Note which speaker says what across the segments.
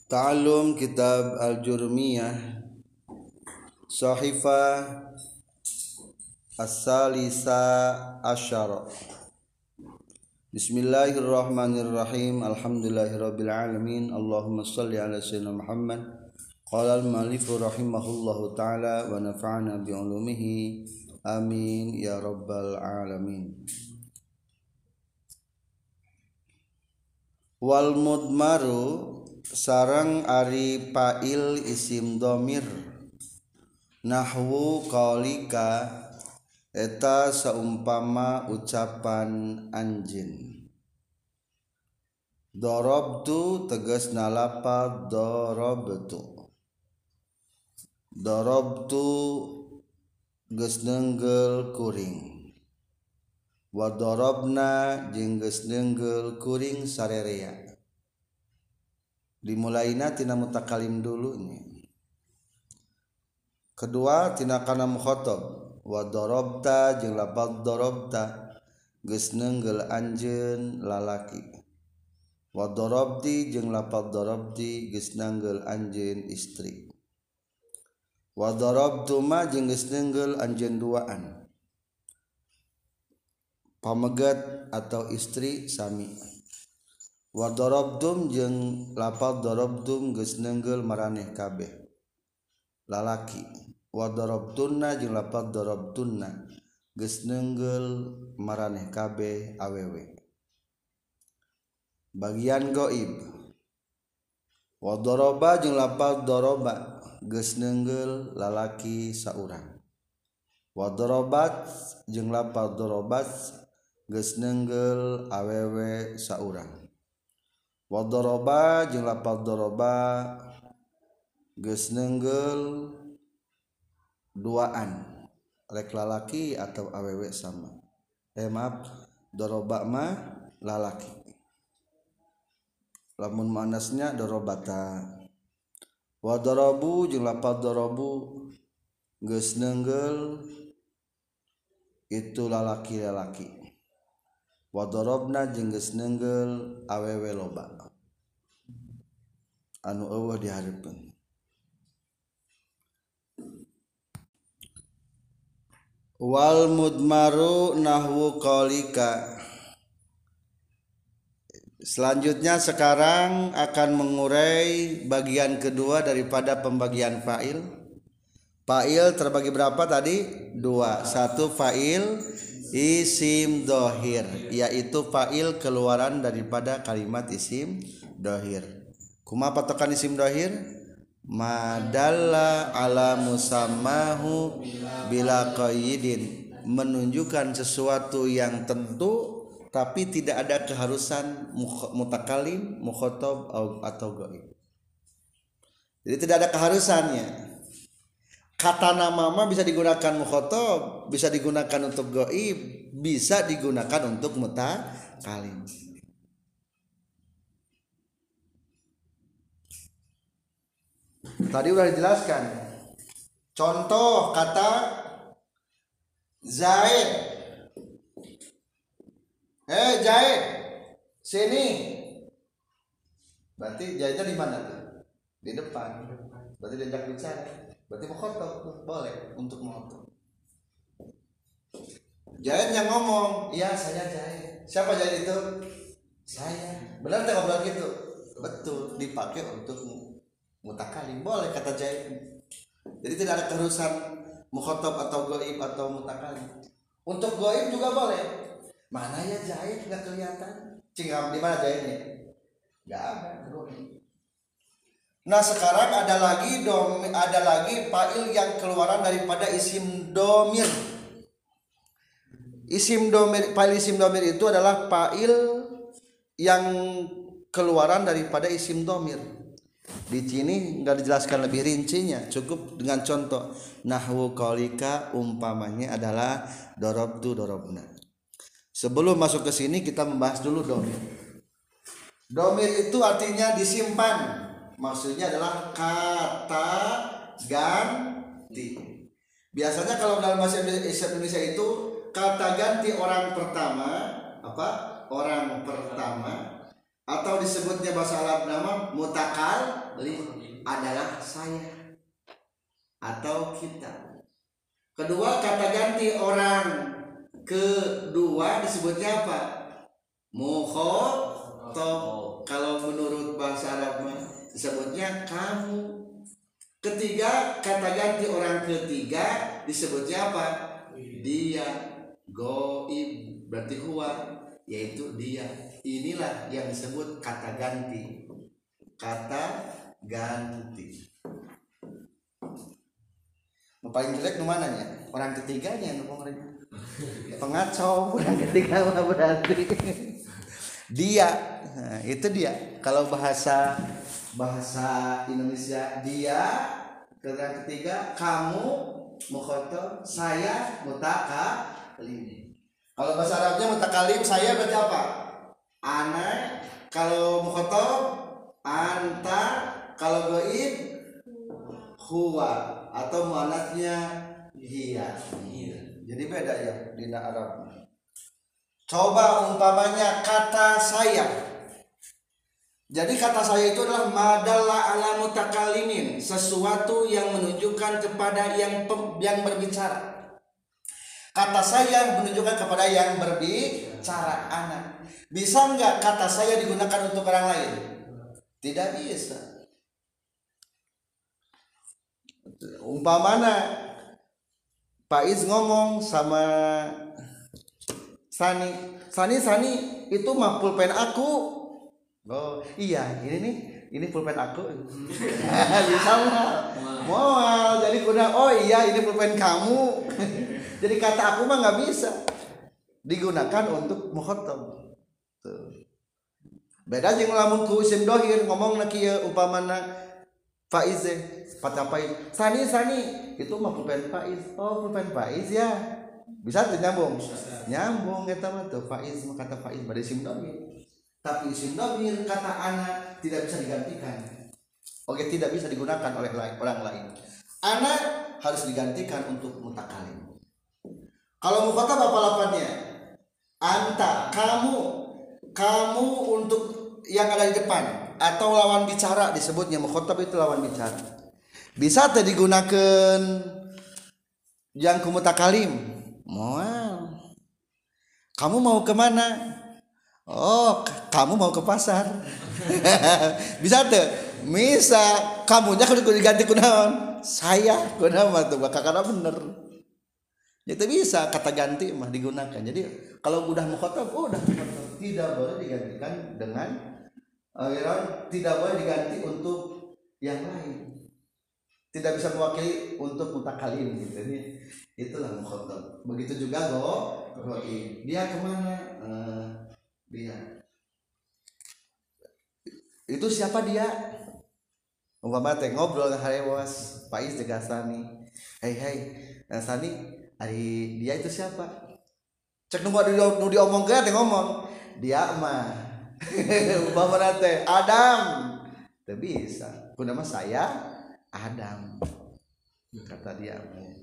Speaker 1: Ta'allum Kitab Al-Jurmiyah Sahifah As-Salisa Asyara. Bismillahirrahmanirrahim. Alhamdulillahirabbil alamin. Allahumma shalli ala sayyidina Muhammad. Qala al-mu'allif rahimahullahu ta'ala wa nafa'ana bi ulumihi. Amin ya rabbal alamin. Wal mudmaru sareng ari fa'il isim dhamir nahwu qaulika eta saumpama ucapan anjeun. Darabtu tegasna lafaz darabtu. Darabtu geus neunggel kuring. Wa darabna jeung geus neunggel kuring sarerea. Dimulaina tina mutakalim dulu nya. Kedua tina kana mukhatab. Wa darabta jeung lafaz darabta geus neunggel anjeun lalaki. Wa darabti jeung lafaz darabti geus neunggel anjeun istri. Wa darabtuma jeung geus neunggel anjeun duaan. Pamegat atau istri sami. Wa darabtum jeung lafaz darabtum geus neunggel maraneh kabeh lalaki. Wa darabtunna jeung lafaz darabtunna geus neunggel maraneh kabeh awewe. Bagian gaib. Wa daraba jeung lafaz daraba geus neunggel lalaki saurang. Wa darabat jeung lafaz darabat geus neunggel awewe saurang. Wa daraba jeung lafaz daraba geus neunggel duaan rek lalaki atau awewe sama. Maaf, daraba mah lalaki. Lamun manasnya darabata. Wa darabu jeung lafaz darabu geus neunggel itu lalaki-lalaki. Wa darabna jeung geus neunggel awewe loba anu eueuh dihareupeun. Wal mudmaru nahwu qaulika. Selanjutnya sekarang akan mengurai bagian kedua daripada pembagian fa'il. Fa'il terbagi berapa tadi? Dua. Satu fa'il isim dohir, yaitu fa'il keluaran daripada kalimat isim dohir. Kumaha patokan isim dohir? Madalla ala musammahu bila qaidin, menunjukkan sesuatu yang tentu tapi tidak ada keharusan mutakalim, mukhatab atau ghaib. Jadi tidak ada keharusannya. Kata nama mah bisa digunakan mukhatab, bisa digunakan untuk ghaib, bisa digunakan untuk mutakalim. Tadi udah dijelaskan. Contoh kata Zaid. Zaid, sini. Berarti Zaidnya di mana tuh? Di depan. Berarti diajak bicara. Berarti mukhatab boleh untuk mukhatab. Zaid yang ngomong, "Iya, saya Zaid." Siapa Zaid itu? Saya. Benar tak ngobrol gitu? Betul, dipakai untuk mutakalim. Boleh kata Zaid. Jadi tidak ada keharusan mukhatab atau ghaib atau mutakalim. Untuk ghaib juga boleh. Mana ya Zaid enggak kelihatan? Cingam di mana Zaidnya? Enggak ada ghaib. Nah, sekarang ada lagi fa'il yang keluaran daripada isim dhamir. Fa'il isim dhamir itu adalah fa'il yang keluaran daripada isim dhamir. Di sini enggak dijelaskan lebih rincinya, cukup dengan contoh. Nahwu qaulika umpamanya adalah darabtu darabna. Sebelum masuk ke sini kita membahas dulu dhamir. Dhamir itu artinya disimpan. Maksudnya adalah kata ganti. Biasanya kalau dalam bahasa Indonesia itu kata ganti orang pertama apa? Orang pertama atau disebutnya bahasa Arab nama mutakallim adalah saya atau kita. Kedua, kata ganti orang kedua disebutnya apa? Mukhatab. Kalau menurut bahasa Arab disebutnya kamu. Ketiga, kata ganti orang ketiga disebutnya apa? Dia. Goib berarti huwa, yaitu dia. Inilah yang disebut kata ganti. Kata ganti. Paling jelek mana nya? Orang ketiganya pengacau. Orang ketiga mah berarti dia. Nah, itu dia. Kalau bahasa Indonesia dia, orang ketiga kamu, mukhatab, saya, mutakalim. Kalau bahasa Arabnya mutakalim saya berarti apa? Ana. Kalau mukhatab anta. Kalau gaib huwa atau muannatnya hiya. Jadi beda ya di Arab. Coba umpamanya kata saya. Jadi kata saya itu adalah madalla ala mutakalimin, sesuatu yang menunjukkan kepada yang berbicara. Kata saya menunjukkan kepada yang berbicara, anak. Bisa enggak kata saya digunakan untuk orang lain? Tidak bisa. Umpamana Faiz ngomong sama Sani itu mah pulpen aku. Oh iya, ini pulpen aku. Bisa nggak? Mau jadi kuda. Oh iya, ini pulpen kamu. Jadi kata aku mah nggak bisa digunakan untuk mukhatab. Beda jeung lamun ku isim dohir ngomong kieu umpamana Faiz Faiz. Sani itu mah pulpen Faiz. Oh pulpen Faiz ya. Bisa tuh nyambung. Nyambung eta mah tuh Faiz kata Faiz pada isim dohir. Tapi isim dhamir kata anak tidak bisa digantikan. Oke, tidak bisa digunakan oleh orang lain. Anak harus digantikan untuk mutakalim. Kalau mukhatab apa lapannya? Anta, kamu untuk yang ada di depan atau lawan bicara disebutnya mukhatab itu lawan bicara. Bisa teh digunakan yang kumutakalim. Moal. Kamu mau kemana? Oh, kamu mau ke pasar. Bisa tuh. Bisa kamunya kudu diganti kunaon? Saya kunaon tuh kakakna bener. Itu bisa kata ganti mah digunakan. Jadi kalau udah mukhatab, udah mukhatab. Tidak boleh digantikan dengan tidak boleh diganti untuk yang lain. Tidak bisa mewakili untuk mutakalim gitu. Itulah mukhatab. Begitu juga goib. Dia kemana? Dia itu siapa dia? Umpama teh ngobrol harewas Faiz jeung Sani. Hei Sani, ari dia itu siapa? Cek nu diomongkeun teh ngomong. Dia mah umpama teh Adam. Teu bisa. Ku nama saya Adam. Kata dia.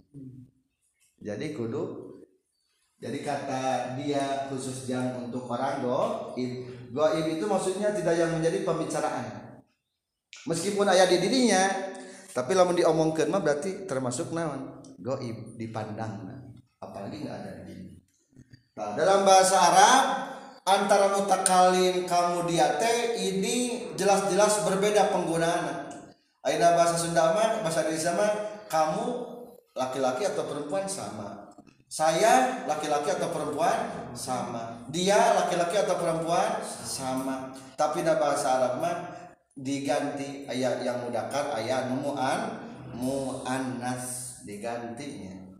Speaker 1: Jadi kata dia khusus yang untuk orang goib itu maksudnya tidak yang menjadi pembicaraan. Meskipun aya di dirinya, tapi lamun diomongkeun mah berarti termasuk naon? Goib dipandang. Apalagi enggak ada di diri. Nah, dalam bahasa Arab antara mutakalim kamu dia teh ini jelas-jelas berbeda penggunaan. Ayeuna bahasa Sunda mah, bahasa Indonesia mah kamu laki-laki atau perempuan sama. Saya laki-laki atau perempuan sama. Dia laki-laki atau perempuan sama. Tapi dalam bahasa Arab mah diganti ayat yang mudzakkar ayat muannas digantinya.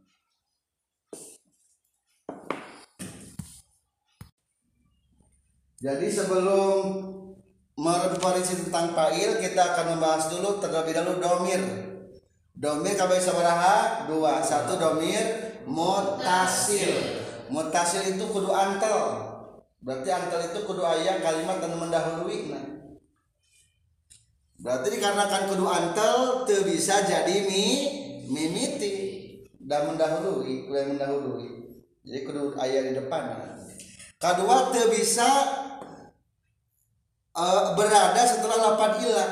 Speaker 1: Jadi sebelum merefleksi tentang fa'il, kita akan membahas dulu terlebih dahulu domir. Domir kabeh sabaraha? 2. 1 domir mutasil. Mutasil itu kudu antel. Berarti antel itu kudu aya kalimat dan mendahului. Berarti dikarenakan kudu antel teu bisa jadi mimiti dan mendahului. Jadi kudu aya di depan. Kedua teu bisa berada setelah lafaz ilah.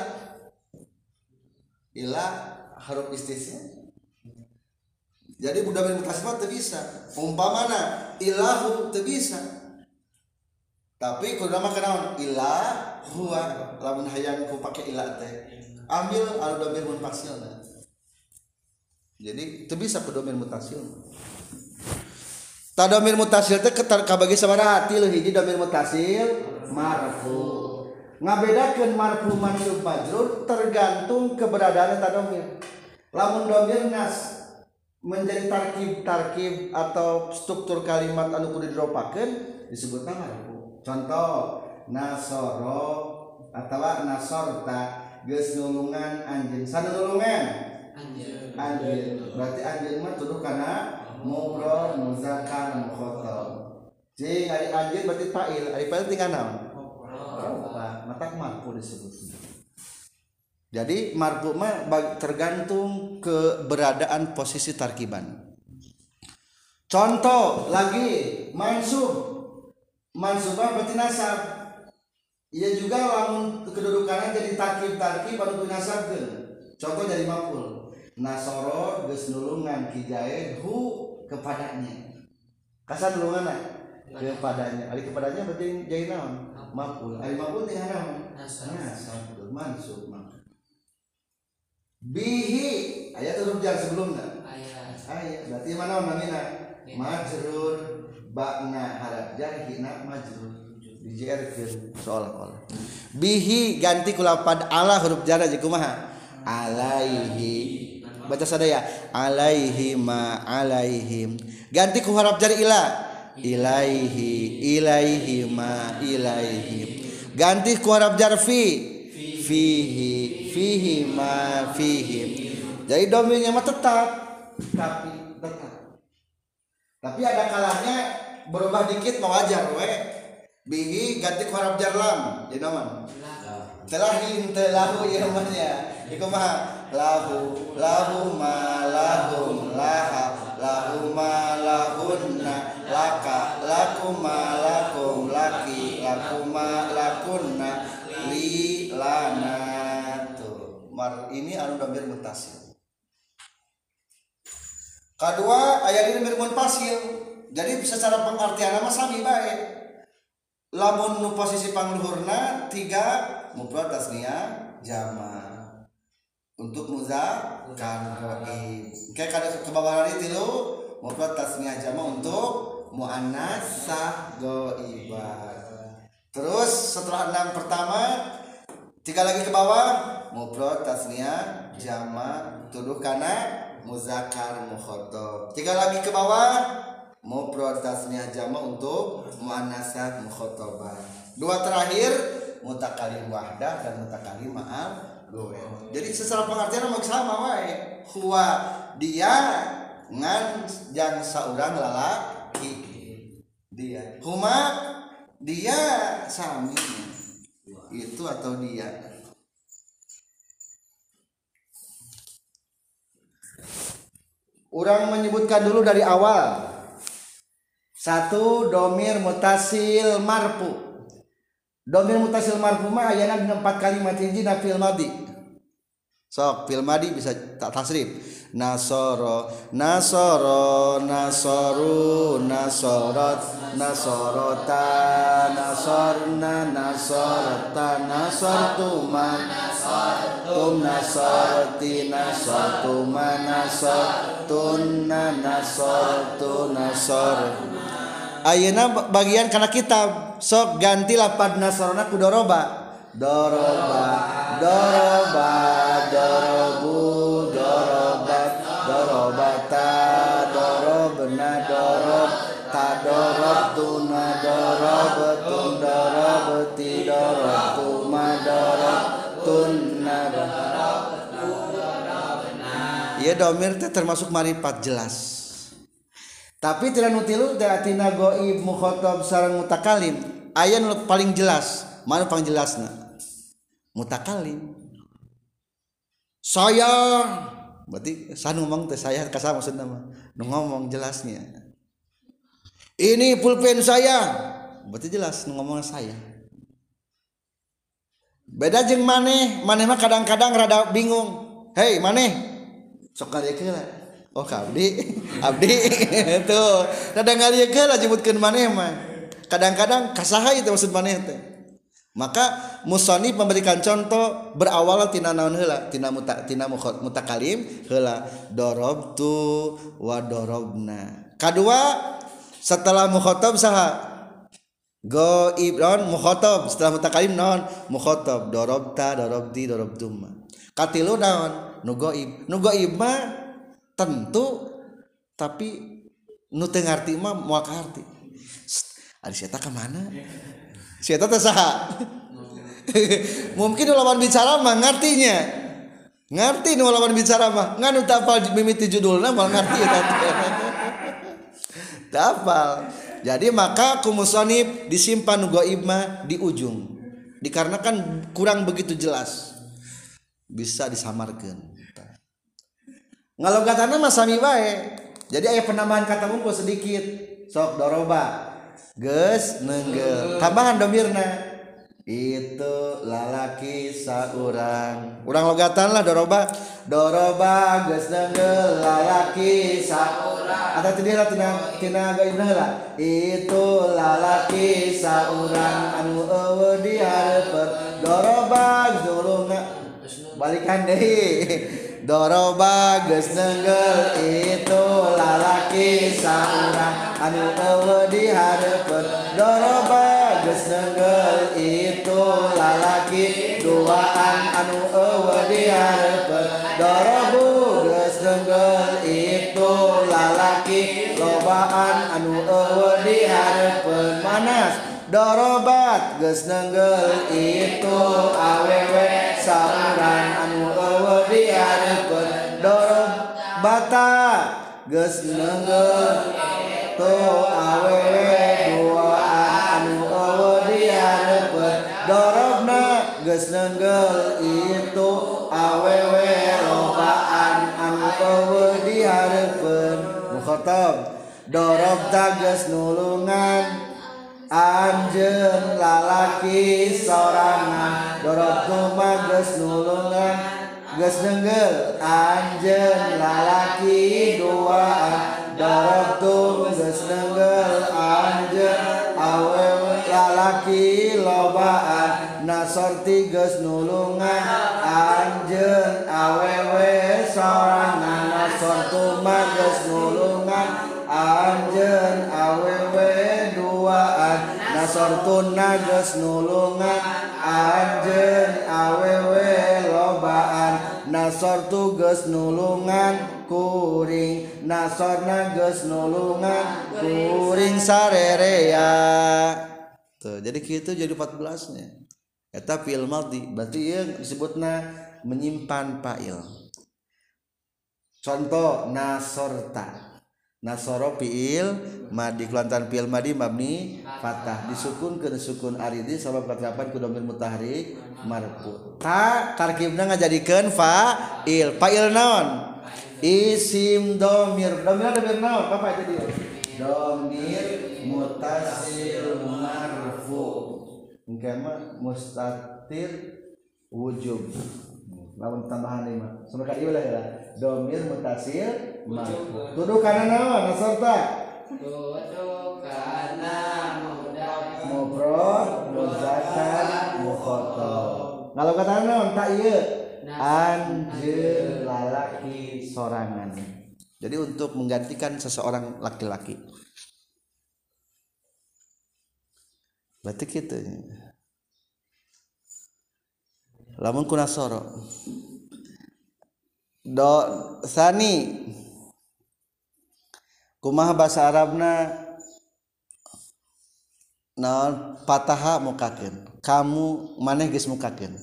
Speaker 1: Ilah huruf istisna. Jadi domir muttasil teu bisa. Umpamana ilahu teu bisa. Tapi kudu mah kenaon? Ilah huwa. Lamun hayang ku pake ilah teh. Ambil al domir muttasilna. Jadi teu bisa ku domir muttasil. Ta domir muttasil teh kabagi sabaraha ti hiji domir muttasil marfu. Ngabedakeun marfu mansub majrur tergantung keberadaan ta domir. Lamun domir nas menjadi tarkib atau struktur kalimat anu kudu diropakeun disebutna marfu. Contoh nasoro atawa nasorta geus nulungan anjeun. Sanulungan anjeun. Berarti anjeun mah tuduh kana mufrad muzakkar mukhatab. Jeung ari anjeun berarti fa'il, ari fa'il tinggal naon? Mata marfu disebutnya. Jadi marfu mah tergantung keberadaan posisi tarkiban. Contoh lagi mansub. Mansubah berarti nasab. Ia juga lamun kedudukannya jadi tarkib anu nasabkeun. Contoh jadi maf'ul. Nasoro geus nulungan kijaid hu kepadanya. Kasar nulunganna kepadanya. Ari kepadanya berarti jadi naon? Maf'ul. Ari maf'ul teh naon? Nasab. Mansub mah. Bihi ayat huruf jar sebelumnya. Ayat. Berarti mana namina? Majrur ba'na haraf jar hina majrur. Dijerkeun seolah-olah. Bihi ganti ku lafaz ala huruf jar aja kumaha? Alaihi. Baca sadaya. Alaihi ma alaihim. Ganti ku huruf jar ila. Ilaihi ma ilaihim. Ganti ku huruf jar fi. Fihi ma fihim. Jadi domirnya mah tetap. Tapi ada kalanya berubah dikit mau wajar we. Bihi ganti ku huruf jar lam. Jadi naon? Telahin telahu ieu mah nya. Iku mah lahu ma lahum laha lahu ma lahunna laka lakum ma lakum laki lakum ma lakunna li lana. Tuh mar ini anu domir muttasil. Kedua aya ini domir munfasil. Jadi secara pengertian mah sami bae. Lamun nu posisi pangluhurna 3 mufrad tasniyah jama. Untuk muzakkar ghaib. Kayak kada kebawahan itu 3 mufrad tasniyah jama untuk muannas ghaibah. Terus setelah 6 pertama 3 lagi ke bawah mufrad tasniyah jama tuduh kana muzakkar mukhatab. 3 lagi ke bawah mufrad tasniyah jama untuk muannasah mukhatabah. 2 terakhir mutakallim wahdah dan mutakallim ma'al ghair. Jadi secara pengertian mah sama wae. Huwa dia ngan jang saurang lalaki. Dia. Huma dia sami itu atau dia. Orang menyebutkan dulu dari awal. 1 domir muttasil marfu. Domir muttasil marfu mah ayana dina 4 kalimat hijina fil madhi. Sok fil madhi bisa tak tasrif. Nasoro nasoru nasorot nasorota nasorna nasorta nasortuma nasortum nasorti nasortuma nasortunna nasortu nasor. Ayeuna bagian kana kitab sok ganti lafaz nasorna ku doroba. Doroba dorobu dorobat dorobata dorobna dorobta dorobtuna dorobtun dorobti dorobtuma dorobtunna. Ieu domir teh termasuk marifat jelas. Tapi tidak nutilu tina ghaib mukhatab sareng mutakallim aya nu paling jelas. Mana paling jelasna? Mutakallim. Saya berarti saya ngomong teh saya ka sama maksudna mah. Nu ngomong jelasnya. Ini pulpen saya. Berarti jelas nu ngomong saya. beda jeung maneh mah kadang-kadang rada bingung. Hei maneh sok ngaliekeun lah. Oh abdi abdi tuh rada ngaliekeun lah nyebutkeun maneh mah kadang-kadang kasaha itu maksud maneh teh. Maka musannif memberikan contoh berawal tina naon heula tina mutakalim heula darabtu wa darabna. Kadua setelah mukhatab saha ghaib non mukhatab setelah mutakalim non mukhatab darabta darabti darabtum. Katilu naon nu ghaib mah tentu tapi nu teu ngarti mah moal kaharti. Ari sia ka mana? Sia teh saha? Mungkin lawan bicara mah ngartinya. Ngarti nu lawan bicara mah ngan teu apal mimiti judulna moal ngarti eta. Teu apal. Jadi maka kumusonib disimpan ghaib mah di ujung. Dikarenakan kurang begitu jelas. Bisa disamarkeun. Ngalogatana mah sami bae. Jadi aya penambahan kata ngumpul sedikit. Sok doroba. Geus neunggel. Tambahan domirna. Itu lalaki saurang. Urang logatan lah doroba. Doroba geus neunggel lalaki saurang. Ada tidira tina gaibna heula. Itu lalaki saurang anu eueuh di hareupeun. Doroba zulungna. Balikan deui. Doroba geus neunggel itu lalaki saurang anu eueuh di hareupeun. Doroba geus neunggel itu lalaki duaan anu eueuh di hareupeun. Dorobu geus neunggel itu lalaki lobaan anu eueuh di hareupeun. Manas dorobat geus neunggel itu awewe saurang anu eueuh di hareupeun. Dorobata geus neunggel tu awewe duaan anu eueuh di hareupeun. Dorobna geus neunggel itu awewe lobaan anu eueuh di hareupeun. Mukhatab dorobta geus nulungan anjeun lalaki sorangan. Dorobtu mah geus nulungan geus neunggel anjeun lalaki duaan. Dorobtu geus neunggel anjeun awewe lalaki lobaan. Nasorti geus nulungan anjeun awewe sorangan. Nasortu mah geus nulungan anjeun awewe duaan. Nasortuna geus nulungan anjeun awewe lobaan. Nasortu geus nulungan kuring. Nasorna geus nulungan kuring sarerea. Tuh, jadi kitu jadi 14-nya. Eta fi'il madhi, berarti ieu disebutna menyimpan fa'il. Contoh nasorta. Nasoro fi'il madhi kelantan fi'il madhi mabni fathah disukunkeun sukun aridi sabab katrapan ku dhamir mutahrik marfu. Ta tarkibna ngajadikeun fa'il. Fa'il naon? Isim dhamir. Dhamir naon? Apa itu dia? Dhamir mutasil marfu. Engke mah mustatir wujub. Lawan tambahan ieu mah. Sampai ka dieu lah ya. Dhamir mutasil marfu. Tuduh kana naon nasorta? Tuduh kana mufrad muzakkar mukhatab. Ngalokatan naon ta ieu? Anjeun lalaki sorangan. Jadi untuk menggantikan seseorang laki-laki. Berarti kitu. Lamun kunasoro. Do sani kumaha bahasa Arabna naon fataha mukakeun. Kamu maneh geus mukakeun.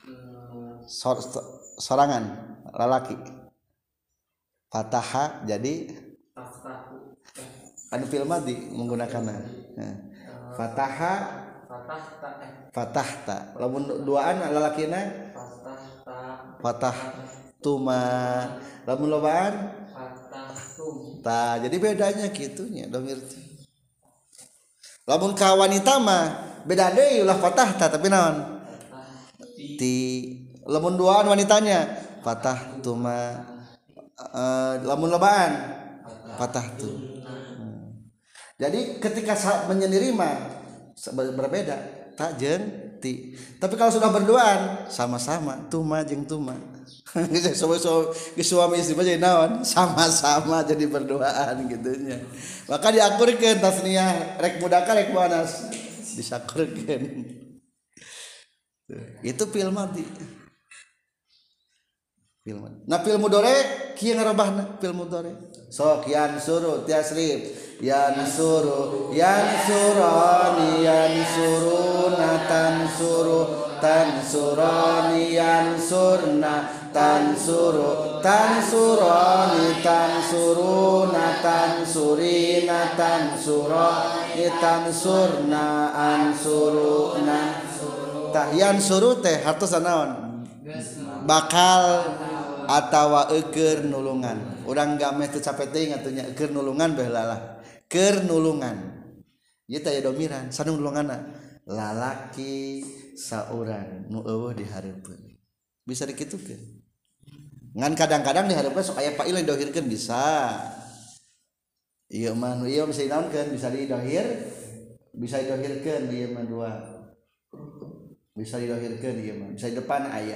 Speaker 1: Sorangan lalaki. Fataha jadi anu fi'il madhi menggunakanna. Fataha fatahta. Lamun duaan lalakina fatah tuma. Lamun lobaan fatahtum. Tah jadi bedanya kitunya dhamir teh. Lamun ka wanita mah beda deui ulah fatahta tapi naon? ti lamun duaan wanitanya patah tuma lamun lobaan patah tu. Jadi ketika menyendiri mah berbeda tak jeung ti. Tapi kalau sudah berduaan sama-sama tuma jeung tuma. Suami istri jadi naon sama-sama jadi berduaan gitunya. Maka diakurkeun tasniah rek mudaka rek muannas disakurkeun. Itu fil madi. Fil madi. Nah fil mudhari kieu ngarobahna fil mudhari. Sok yansuru tiasrif yansuru yansurani yansuruna tansuru tansurani yansurna tansuru tansurani tansuruna tansurina tansurani tansurna ansuruna tah yansuru teh hartos naon bakal atawa eukeur nulungan urang gameh teu capek teuing atunya eukeur nulungan bae lalah keur nulungan ieu teh aya domiran sanulunganna lalaki saurang nu eueuh dihareupeun bisa dikitukeun ngan kadang-kadang dihareupeun sok aya fa'il didohirkeun bisa ieu mah nu ieu bisa dinaonkeun bisa didohirkeun ieu mah dua bisa didohirkeun ieu mah bisa di depan aya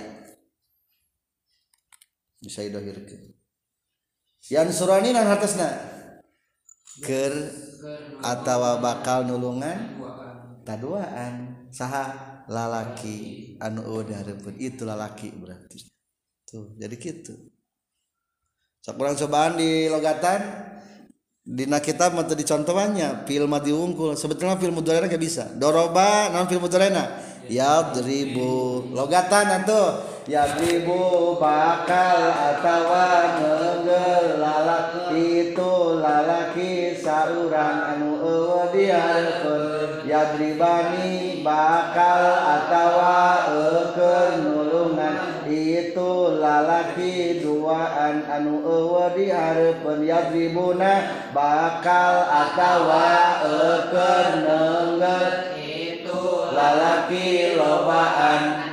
Speaker 1: bisa didohirkeun yan surani nan hartosna keur atawa bakal nulungan taduaan saha lalaki anu eueuh dihareupeun itu lalaki berarti tuh jadi kitu sok urang cobaan di logatan dina kitab mah teu dicontohannya fil madi wungkul sebetulna fil mudhari ge bisa doroba naon fil mudharina yadribu logatan atuh yadribu bakal atawa neungeul lalaki itu lalaki saurang anu eueuh dihareupeun yadribani bakal atawa eukeun nulungan itu lalaki duaan anu eueuh dihareupeun yadribuna bakal atawa eukeun neungeul itu lalaki lobaan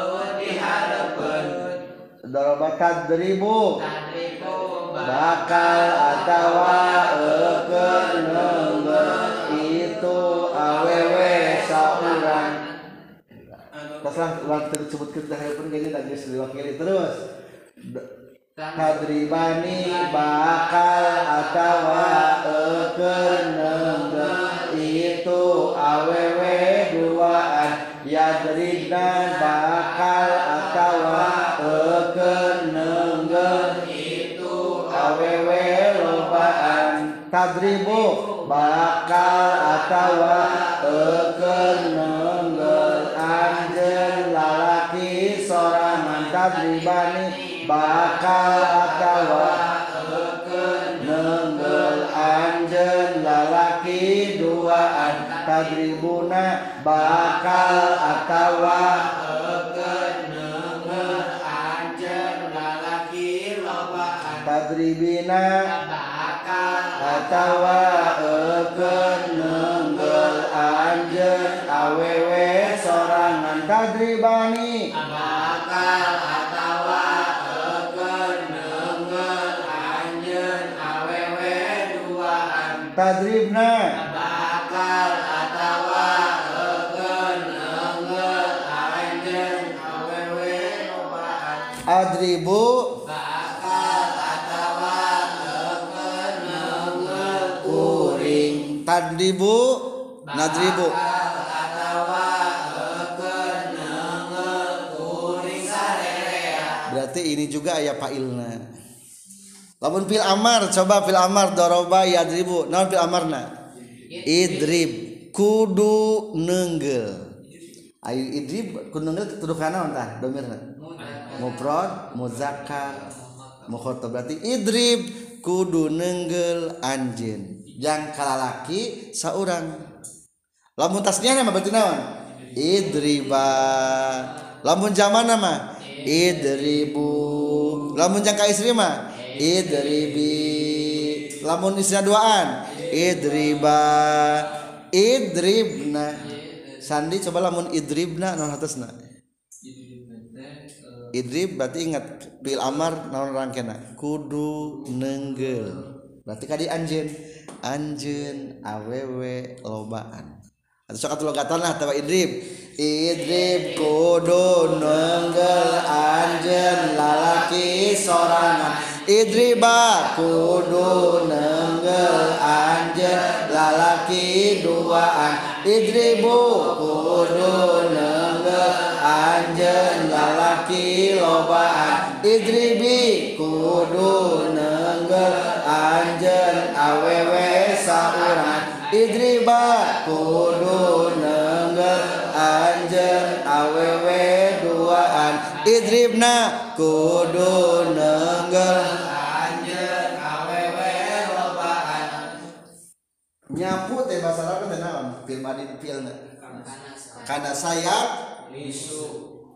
Speaker 1: doroba tadribu bakal atawa eukeun neungeul itu awewe saurang teruslah waktu disebutkeun teh haeupeun gini tak geus diwakili terus tadribani bakal atawa eukeun neungeul itu awewe duaan yadribna bakal atawa eukeun neungeul itu awewe lobaan tadribu bakal atawa eukeun neungeul anjeun lalaki sorangan tadribani bakal atawa eukeun neungeul anjeun lalaki duaan tadribuna bakal atawa eukeun neungeul anjeun lalaki lobaan tadribina bakal atawa eukeun neungeul anjeun awewe sorangan tadribani bakal atawa eukeun neungeul anjeun awewe duaan tadribna bakal atawa eukeun neungeul anjeun awewe lobaan adribu bakal atawa eukeun neungeul kuring tadribu nadribu atawa eukeun neungeul kuring sarerea berarti ini juga aya fa'ilna lamun fil amar coba fil amar doroba yadribu naon fil amarna idrib kudu neungeul ayo idrib kudu neungeul tuduh kana naon tah domirna mufrad muzakkar mukhatab berarti idrib kudu neungeul anjeun jang kalalaki saurang lamun tasniah mah berarti naon idriba lamun jamanna mah idribu lamun jang ka istri mah idribi lamun isna duaan idriba idribna sandi coba lamun idribna naon hartosna idrib berarti ingat fi'il amar naon rangkena kudu nenggel berarti kadi anjeun awewe lobaan atau sok atuh logatan lah tawa idrib kudu nenggel anjeun lalaki sorangan idriba kudu nenggel anjeun lalaki duaan idribu kudu nenggel anjeun lalaki lobaan idribi kudu nenggel anjeun awewe saurang idriba kudu nenggel anjeun awewe duaan idribna kudu nenggel anjeun awewe lobaan nyapu teh bahasa Arab teh naon fil madin filna kana sayap nisu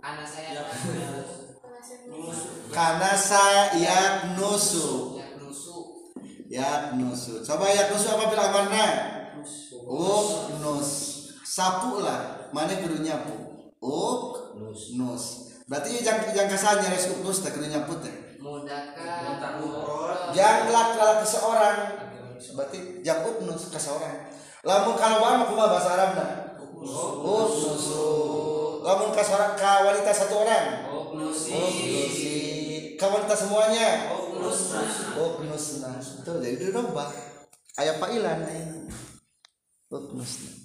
Speaker 1: kana sayap nusu coba yak nusu apa fil amarna nus sapu lah mana kudu nyapu nus berarti jangan kasarnya res nus teh kudu nyapu teh jangan lak seorang berarti jangan nus ke seorang lamun kalauan kumaha bahasa Arabna nusu lamun ka seorang ka wanita satu orang nusi ka wanita semuanya nusna tuh jadi itu dong bah aya pailan nusna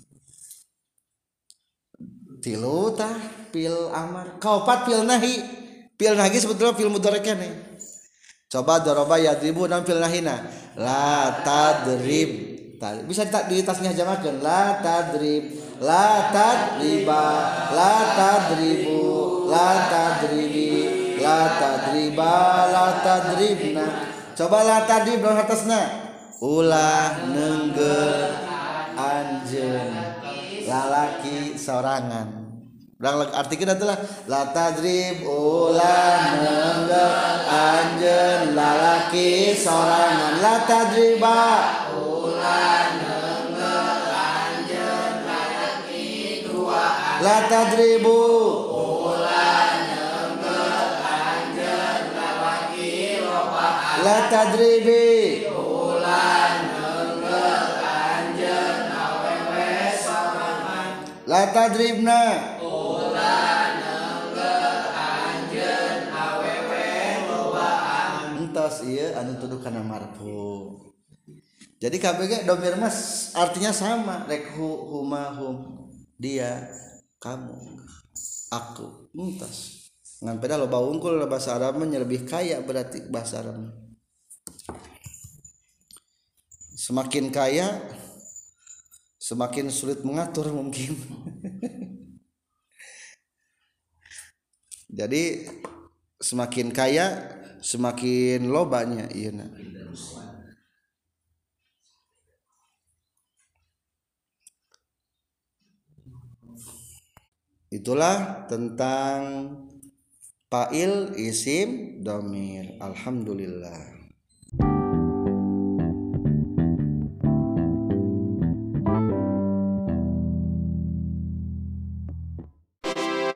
Speaker 1: tilu tah fil amar kaopat fil nahi sebetulnya fil mudhari keneh coba daraba yadribu dan fil nahina la tadrib bisa di tasnya jamakeun la tadrib la tadriba la tadribu la tadribi la tadriba la tadribna coba la tadrib dong atasna ulah nenggel anjeun lalaki sorangan urang artikeun atuh lah la tadrib ulah nenggel anjeun lalaki sorangan la tadriba ulah nenggel anjeun lalaki duaan la tadribu ulah nenggel anjeun lalaki lobaan la tadribi ulah nenggel anjeun awewe sorangan la tadribna ulah nenggel anjeun awewe lobaan entos ieu anu tuduh kana marfu jadi KBG domir mas artinya sama rek huma hum dia kamu aku entos ngan peda loba unggul bahasa Arabnya lebih kaya berarti bahasa Arab semakin kaya semakin sulit mengatur mungkin jadi semakin kaya semakin lobanya iya nah. Itulah tentang fa'il isim dhamir. Alhamdulillah.